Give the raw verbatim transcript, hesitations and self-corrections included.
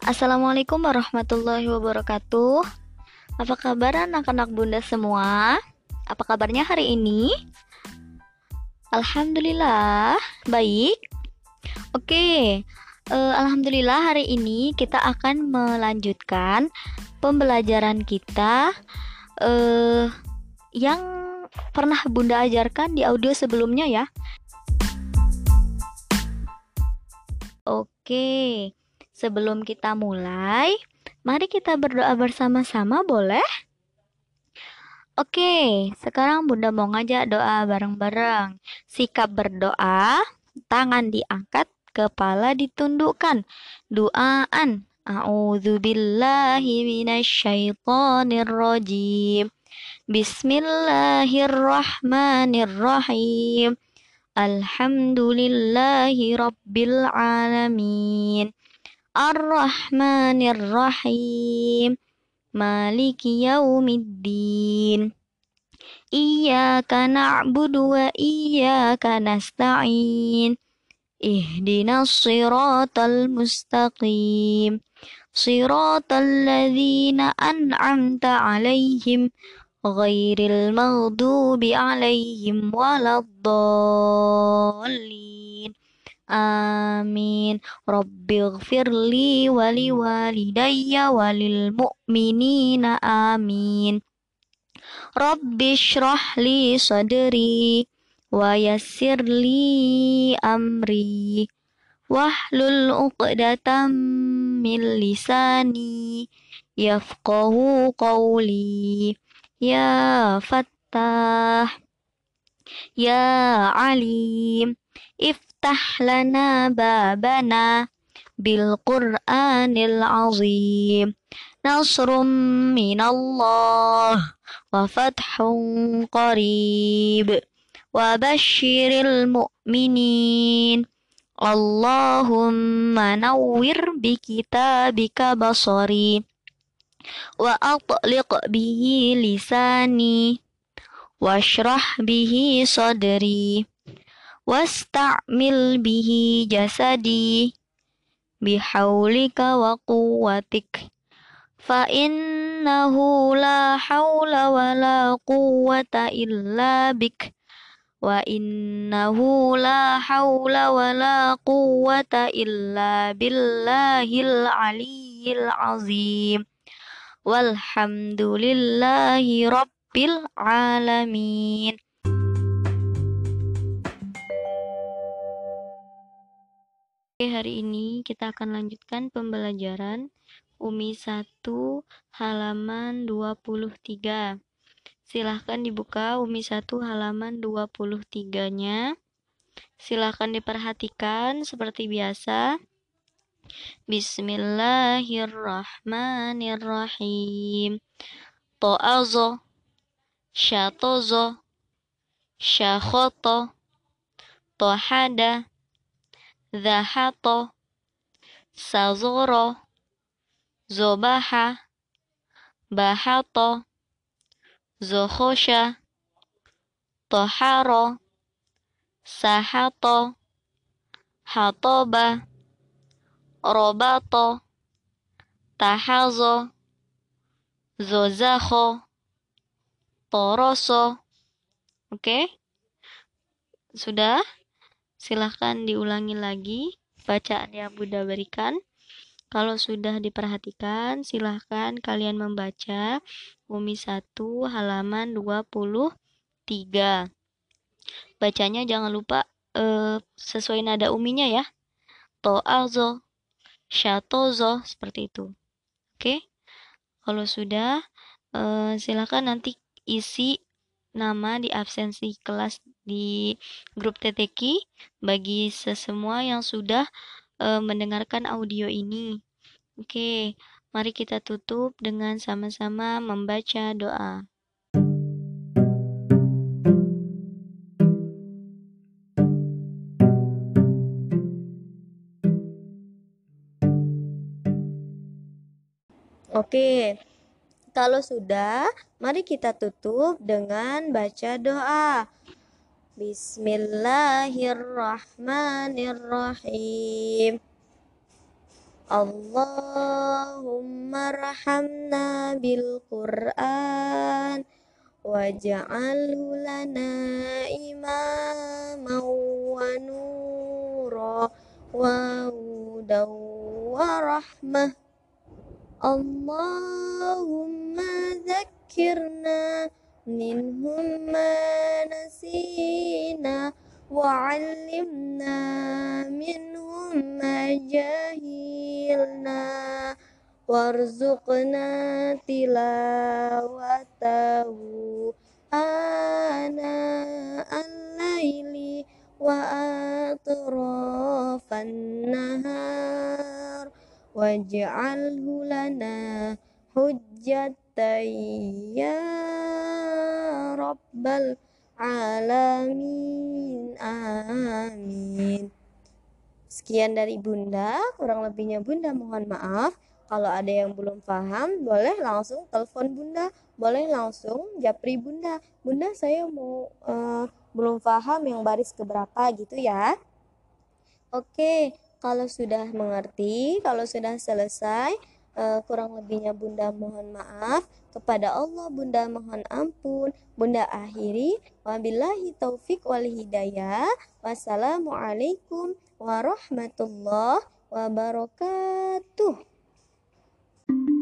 Assalamualaikum warahmatullahi wabarakatuh. Apa kabar anak-anak bunda semua? Apa kabarnya hari ini? Alhamdulillah, baik. Oke, eh, Alhamdulillah hari ini kita akan melanjutkan pembelajaran kita eh, yang pernah bunda ajarkan di audio sebelumnya ya. Oke, sebelum kita mulai, mari kita berdoa bersama-sama, boleh? Oke, sekarang Bunda mau ngajak doa bareng-bareng. Sikap berdoa, tangan diangkat, kepala ditundukkan. Doaan. A'udzubillahi minasyaitonirrajim. Bismillahirrahmanirrahim. Alhamdulillahi rabbil alamin. Ar-Rahmanir-Rahim. Maliki yaumiddin. Iyyaka na'budu wa iyyaka nasta'in. Ihdinas siratal mustaqim. Siratal ladzina an'amta 'alaihim ghairil maghdubi 'alaihim waladdallin. Amin. Rabbighfirli wali walidayya walil mu'minina amin. Rabbi shrah li sadri wa yassir li amri wahlul uqdatam min lisani yafqahu qawli. Ya Fattah, Ya Alim, iftah lana babana bil Qur'anil azim. Nasrum minallah wa fathun qarib. Wa bashiril mu'minin. Allahumma nawwir bi kitabika basari wa atliq bihi lisani washrah bihi sadri wasta'mil bihi jasadi bihaulika wa quwwatik fa innahu la hawla wa la quwwata illa bik wa innahu la hawla wa la quwwata illa billahil aliyyil azim. Walhamdulillahi rabbil alamin. Oke, hari ini kita akan lanjutkan pembelajaran Umi satu halaman dua puluh tiga. Silahkan dibuka Umi satu halaman dua puluh tiga-nya. Silahkan diperhatikan seperti biasa. Bismillahirrahmanirrahim. To'azo, syatozo, syakhoto, tohada, zahato, sazoro, zobaha, bahato, zohosha, toharo, sahato, hatoba, robato, tahazo, zozaho, toroso. Oke, sudah? Silahkan diulangi lagi bacaan yang Bunda berikan. Kalau sudah diperhatikan, silahkan kalian membaca Umi satu halaman dua puluh tiga. Bacanya jangan lupa eh, sesuai nada uminya ya. To'azo, syatozo, seperti itu. Oke, kalau sudah, eh, silahkan nanti isi nama di absensi kelas di grup T T K bagi sesemua yang sudah uh, mendengarkan audio ini. Oke, mari kita tutup dengan sama-sama membaca doa. Oke, kalau sudah, mari kita tutup dengan baca doa. Bismillahirrahmanirrahim. Allahumma rahamna bil Qur'an waj'alhu lana imaman wa nura wa hudan wa rahmah. Allahumma zakkirna minhum ma nasina wa 'allimna minhum ma jahilna warzuqna tilawatahu ana al-laili wa atrafan nahar waj'alhu lana hujjatan ya rabbal alamin, amin. Sekian dari Bunda, kurang lebihnya Bunda mohon maaf. Kalau ada yang belum paham, boleh langsung telepon Bunda, boleh langsung japri Bunda. Bunda, saya mau uh, belum paham yang baris keberapa gitu ya. Oke, kalau sudah mengerti, kalau sudah selesai, uh, kurang lebihnya Bunda mohon maaf. Kepada Allah Bunda mohon ampun. Bunda akhiri, wabillahi taufik wal hidayah. Wassalamualaikum warahmatullahi wabarakatuh.